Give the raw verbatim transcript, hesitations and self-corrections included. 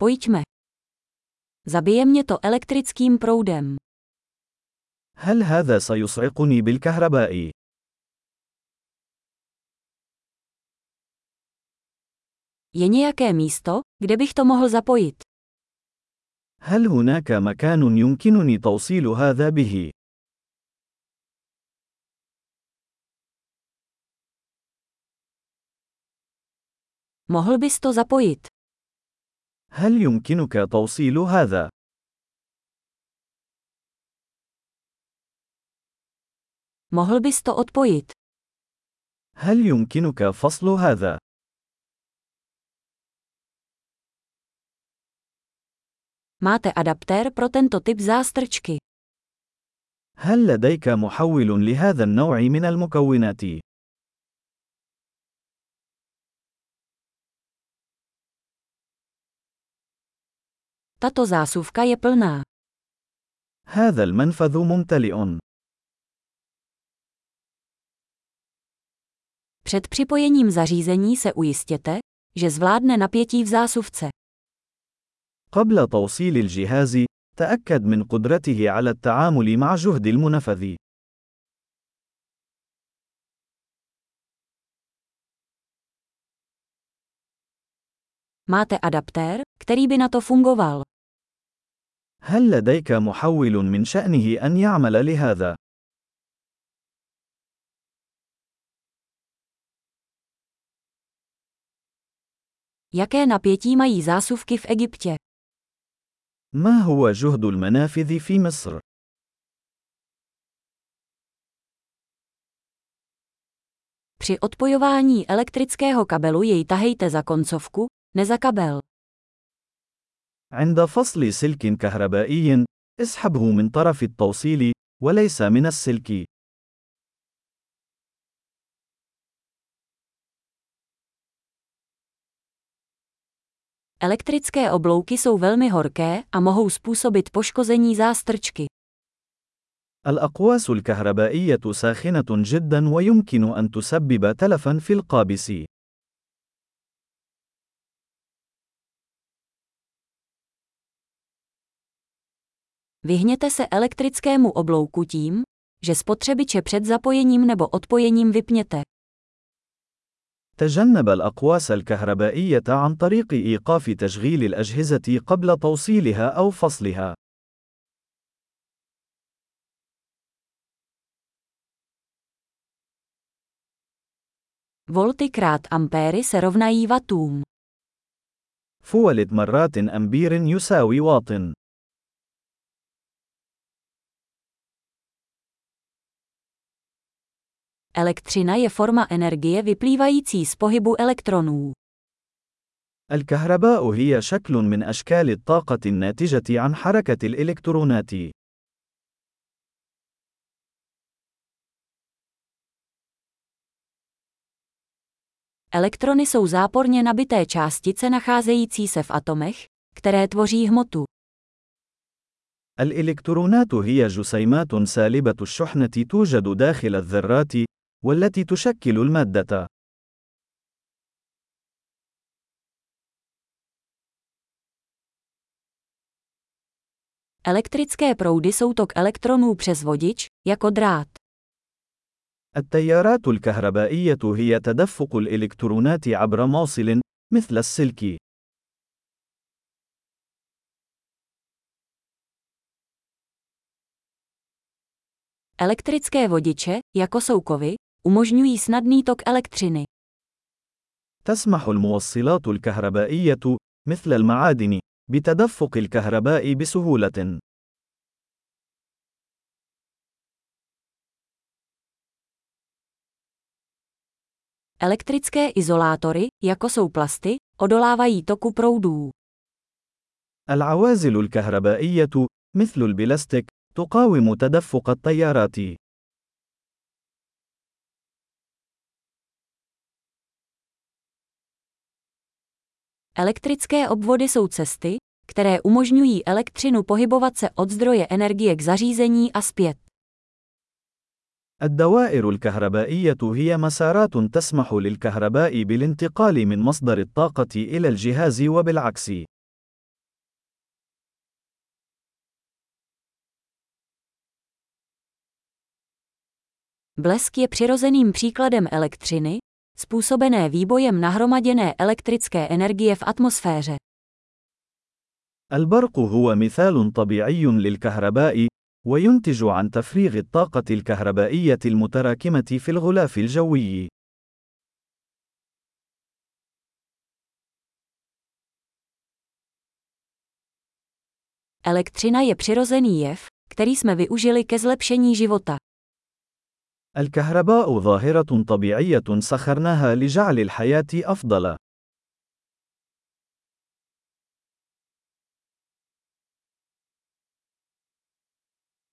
Pojďme. Zabije mě to elektrickým proudem. هل هذا سيصعقني بالكهرباء؟ Je nějaké místo, kde bych to mohl zapojit? هل هناك مكان يمكنني توصيل هذا به؟ Mohl bys to zapojit? هل يمكنك توصيل هذا؟ Mohl bys to odpojit? هل يمكنك فصل هذا؟ Máte adaptér pro tento typ zástrčky? هل لديك محول لهذا النوع من المكونات؟ Tato zásuvka je plná. هذا المنفذ ممتلئ. Před připojením zařízení se ujistěte, že zvládne napětí v zásuvce. قبل توصيل الجهاز، تأكد من قدرته على التعامل مع جهد المنفذ. Máte adaptér, který by na to fungoval? هل لديك محول من شأنه أن يعمل لهذا؟ Jaké napětí mají zásuvky v Egyptě? ما هو جهد المنافذ في مصر؟ Při odpojování elektrického kabelu jej tahejte za koncovku, ne za kabel. عند فصل سلك كهربائي، اسحبه من طرف التوصيل، وليس من السلك. Elektrické oblouky jsou velmi horké a mohou způsobit poškození zástrčky. الأقواس الكهربائية ساخنة جدا ويمكن أن تسبب تلفا في القابس. Vyhněte se elektrickému oblouku tím, že spotřebiče před zapojením nebo odpojením vypněte. تجنب الأقواس الكهربائية عن طريق إيقاف تشغيل الأجهزة قبل توصيلها أو فصلها. Volty krát ampéry se rovnají wattům. فولت مرات أمبير يساوي واط. Elektřina je forma energie vyplývající z pohybu elektronů. الكهرباء هي شكل من أشكال الطاقة الناتجة عن حركة الإلكترونات. Elektrony jsou záporně nabité částice nacházející se v atomech, které tvoří hmotu. الإلكترونات هي جسيمات سالبة الشحنة توجد داخل الذرات، والتي تشكل المادة. Elektrické proudy jsou tok elektronů přes vodič, jako drát. التيارات الكهربائية هي تدفق الإلكترونات عبر موصل، مثل السلك. Elektrické vodiče, jako jsou kovy, umožňují snadný tok elektřiny. تسمح الموصلات الكهربائية، مثل المعادن، بتدفق الكهرباء بسهولة. Elektrické izolátory, jako jsou plasty, odolávají toku proudů. العوازل الكهربائية، مثل البلاستيك، تقاوم تدفق التيارات. Elektrické obvody jsou cesty, které umožňují elektřinu pohybovat se od zdroje energie k zařízení a zpět. الدوائر الكهربائية هي مسارات تسمح للكهرباء بالانتقال من مصدر الطاقة إلى الجهاز وبالعكس. Blesk je přirozeným příkladem elektřiny, způsobené výbojem nahromaděné elektrické energie v atmosféře. البرق هو مثال طبيعي للكهرباء، وينتج عن تفريغ الطاقة الكهربائية المتراكمة في الغلاف الجوي. Elektřina je přirozený jev, který jsme využili ke zlepšení života. الكهرباء ظاهرة طبيعية سخرناها لجعل الحياة أفضل.